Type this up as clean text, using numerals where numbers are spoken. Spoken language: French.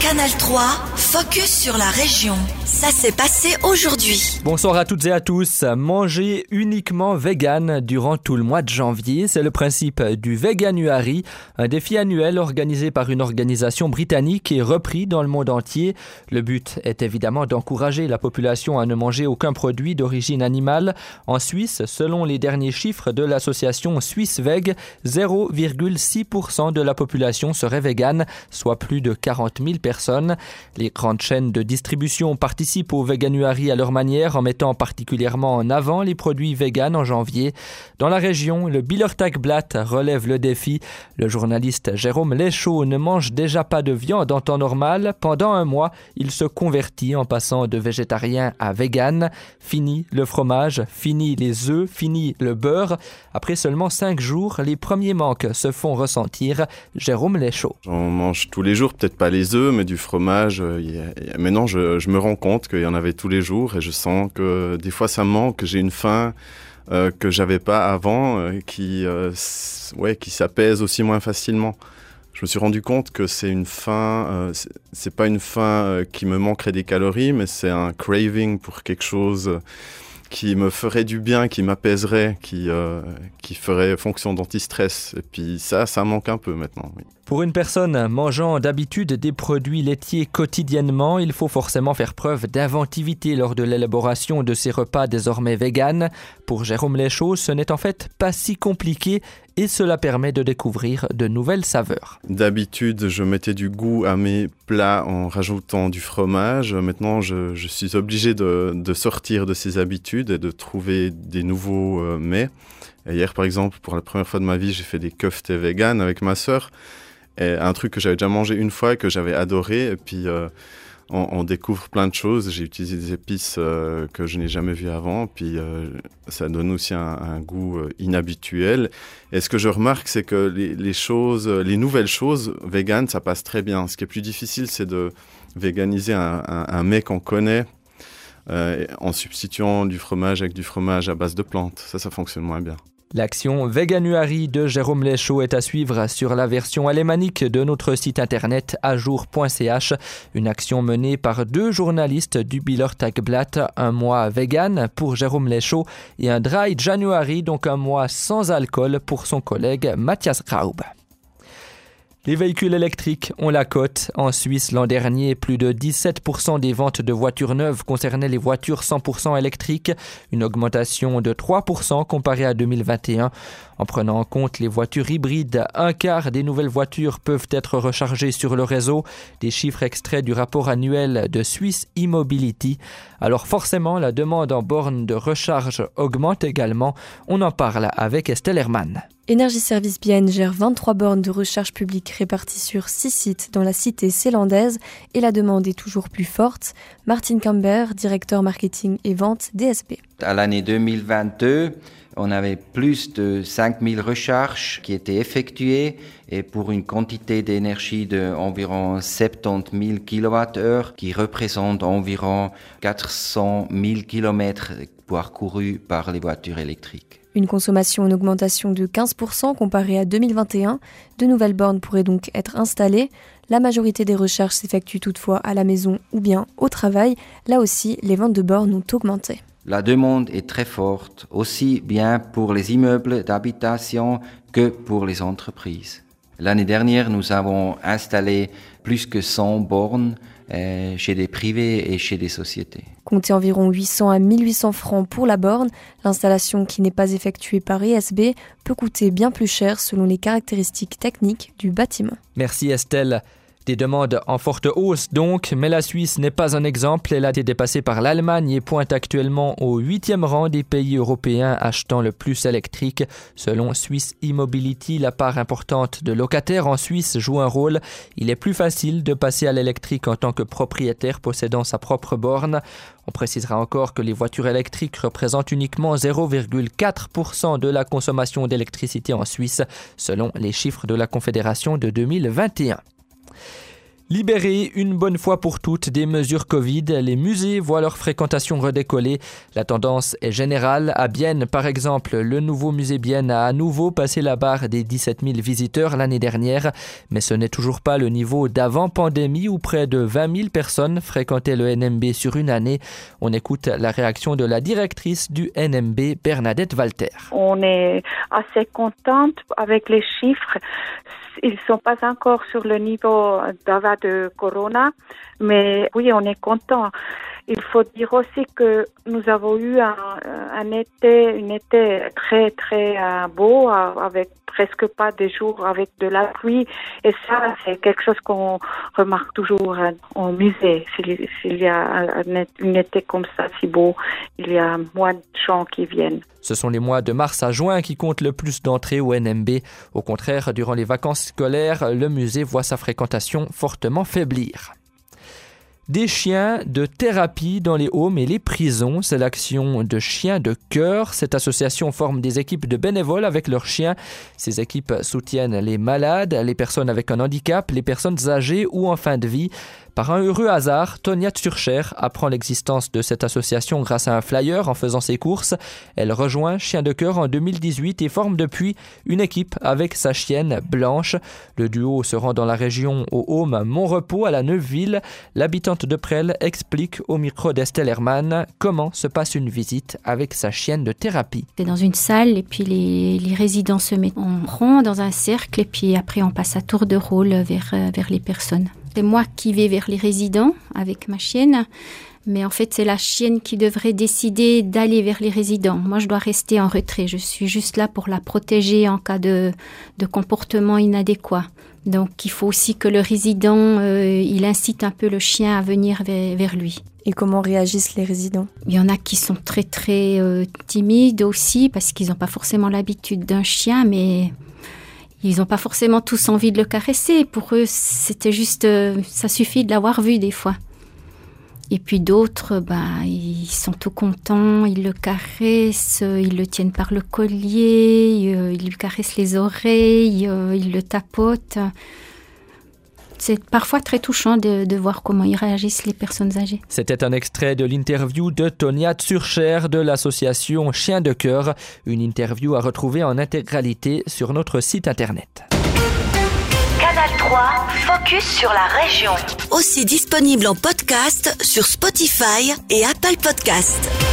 Canal 3, focus sur la région. Ça s'est passé aujourd'hui. Bonsoir à toutes et à tous. Manger uniquement vegan durant tout le mois de janvier, c'est le principe du Veganuary, un défi annuel organisé par une organisation britannique et repris dans le monde entier. Le but est évidemment d'encourager la population à ne manger aucun produit d'origine animale. En Suisse, selon les derniers chiffres de l'association SwissVeg, 0,6% de la population serait végane, soit plus de 40 000 personnes. Les grandes chaînes de distribution participent au Veganuary à leur manière en mettant particulièrement en avant les produits véganes en janvier. Dans la région, le Bielertagblatt relève le défi. Le journaliste Jérôme Lechaud ne mange déjà pas de viande en temps normal. Pendant un mois, il se convertit en passant de végétarien à vegan. Fini le fromage, fini les œufs, fini le beurre. Après seulement 5 jours, les premiers manques se font ressentir. Jérôme Lechaud. J'en mange tous les jours, peut-être pas les œufs, mais du fromage. Maintenant, je me rends compte qu'il y en avait tous les jours et je sens que des fois ça me manque, que j'ai une faim que j'avais pas avant, qui s'apaise aussi moins facilement. Je me suis rendu compte que c'est une faim, c'est pas une faim qui me manquerait des calories, mais c'est un craving pour quelque chose qui me ferait du bien, qui m'apaiserait, qui ferait fonction d'anti-stress. Et puis ça manque un peu maintenant, oui. Pour une personne mangeant d'habitude des produits laitiers quotidiennement, il faut forcément faire preuve d'inventivité lors de l'élaboration de ces repas désormais véganes. Pour Jérôme Lechaud, ce n'est en fait pas si compliqué et cela permet de découvrir de nouvelles saveurs. D'habitude, je mettais du goût à mes plats en rajoutant du fromage. Maintenant, je suis obligé de sortir de ces habitudes et de trouver des nouveaux mets. Et hier, par exemple, pour la première fois de ma vie, j'ai fait des koftés véganes avec ma sœur. Et un truc que j'avais déjà mangé une fois et que j'avais adoré. Et puis, on découvre plein de choses. J'ai utilisé des épices que je n'ai jamais vues avant. Puis, ça donne aussi un goût inhabituel. Et ce que je remarque, c'est que les nouvelles choses véganes, ça passe très bien. Ce qui est plus difficile, c'est de véganiser un mets qu'on connaît en substituant du fromage avec du fromage à base de plantes. Ça fonctionne moins bien. L'action Veganuary de Jérôme Lechaud est à suivre sur la version alémanique de notre site internet ajour.ch. Une action menée par 2 journalistes du Bielertagblatt, un mois vegan pour Jérôme Lechaud et un Dry January, donc un mois sans alcool pour son collègue Matthias Graub. Les véhicules électriques ont la cote. En Suisse, l'an dernier, plus de 17% des ventes de voitures neuves concernaient les voitures 100% électriques, une augmentation de 3% comparée à 2021. En prenant en compte les voitures hybrides, un quart des nouvelles voitures peuvent être rechargées sur le réseau. Des chiffres extraits du rapport annuel de Swiss E-Mobility. Alors forcément, la demande en bornes de recharge augmente également. On en parle avec Estelle Hermann. Énergie Service Bienne gère 23 bornes de recharge publique réparties sur 6 sites dans la cité zélandaise et la demande est toujours plus forte. Martin Camber, directeur marketing et vente DSB. À l'année 2022, on avait plus de 5000 recharges qui étaient effectuées et pour une quantité d'énergie d'environ 70 000 kWh qui représente environ 400 000 km parcourus par les voitures électriques. Une consommation en augmentation de 15% comparée à 2021. De nouvelles bornes pourraient donc être installées. La majorité des recharges s'effectuent toutefois à la maison ou bien au travail. Là aussi, les ventes de bornes ont augmenté. La demande est très forte, aussi bien pour les immeubles d'habitation que pour les entreprises. L'année dernière, nous avons installé plus que 100 bornes chez des privés et chez des sociétés. Comptez environ 800 à 1800 francs pour la borne. L'installation qui n'est pas effectuée par ESB peut coûter bien plus cher selon les caractéristiques techniques du bâtiment. Merci Estelle. Des demandes en forte hausse donc, mais la Suisse n'est pas un exemple. Elle a été dépassée par l'Allemagne et pointe actuellement au 8e rang des pays européens achetant le plus électrique. Selon Swiss E-Mobility, la part importante de locataires en Suisse joue un rôle. Il est plus facile de passer à l'électrique en tant que propriétaire possédant sa propre borne. On précisera encore que les voitures électriques représentent uniquement 0,4% de la consommation d'électricité en Suisse, selon les chiffres de la Confédération de 2021. Libérer une bonne fois pour toutes des mesures Covid, les musées voient leur fréquentation redécoller. La tendance est générale. À Bienne, par exemple, le nouveau musée Bienne a à nouveau passé la barre des 17 000 visiteurs l'année dernière. Mais ce n'est toujours pas le niveau d'avant pandémie où près de 20 000 personnes fréquentaient le NMB sur une année. On écoute la réaction de la directrice du NMB, Bernadette Walter. On est assez contente avec les chiffres. Ils ne sont pas encore sur le niveau d'avant de Corona, mais oui, on est content. Il faut dire aussi que nous avons eu un été très très beau, avec presque pas de jours avec de la pluie, et ça c'est quelque chose qu'on remarque toujours au musée. S'il y a un été comme ça si beau, il y a moins de gens qui viennent. Ce sont les mois de mars à juin qui comptent le plus d'entrées au NMB. Au contraire, durant les vacances scolaires, le musée voit sa fréquentation fortement faiblir. Des chiens de thérapie dans les homes et les prisons, c'est l'action de Chiens de Cœur. Cette association forme des équipes de bénévoles avec leurs chiens. Ces équipes soutiennent les malades, les personnes avec un handicap, les personnes âgées ou en fin de vie. Par un heureux hasard, Tonia Tsurcher apprend l'existence de cette association grâce à un flyer en faisant ses courses. Elle rejoint Chiens de Cœur en 2018 et forme depuis une équipe avec sa chienne Blanche. Le duo se rend dans la région au home Montrepos à la Neuville. L'habitante de Presles explique au micro d'Estelle Hermann comment se passe une visite avec sa chienne de thérapie. C'est dans une salle et puis les résidents se mettent en rond dans un cercle et puis après on passe à tour de rôle vers les personnes. C'est moi qui vais vers les résidents avec ma chienne, mais en fait c'est la chienne qui devrait décider d'aller vers les résidents. Moi je dois rester en retrait, je suis juste là pour la protéger en cas de comportement inadéquat. Donc il faut aussi que le résident, il incite un peu le chien à venir vers lui. Et comment réagissent les résidents ? Il y en a qui sont très très timides aussi parce qu'ils n'ont pas forcément l'habitude d'un chien, mais ils n'ont pas forcément tous envie de le caresser. Pour eux, c'était juste, ça suffit de l'avoir vu des fois. Et puis d'autres, ils sont tout contents, ils le caressent, ils le tiennent par le collier, ils lui caressent les oreilles, ils le tapotent. C'est parfois très touchant de voir comment ils réagissent les personnes âgées. C'était un extrait de l'interview de Tonia Tsurcher de l'association Chiens de Cœur. Une interview à retrouver en intégralité sur notre site internet. Canal 3, focus sur la région. Aussi disponible en podcast sur Spotify et Apple Podcasts.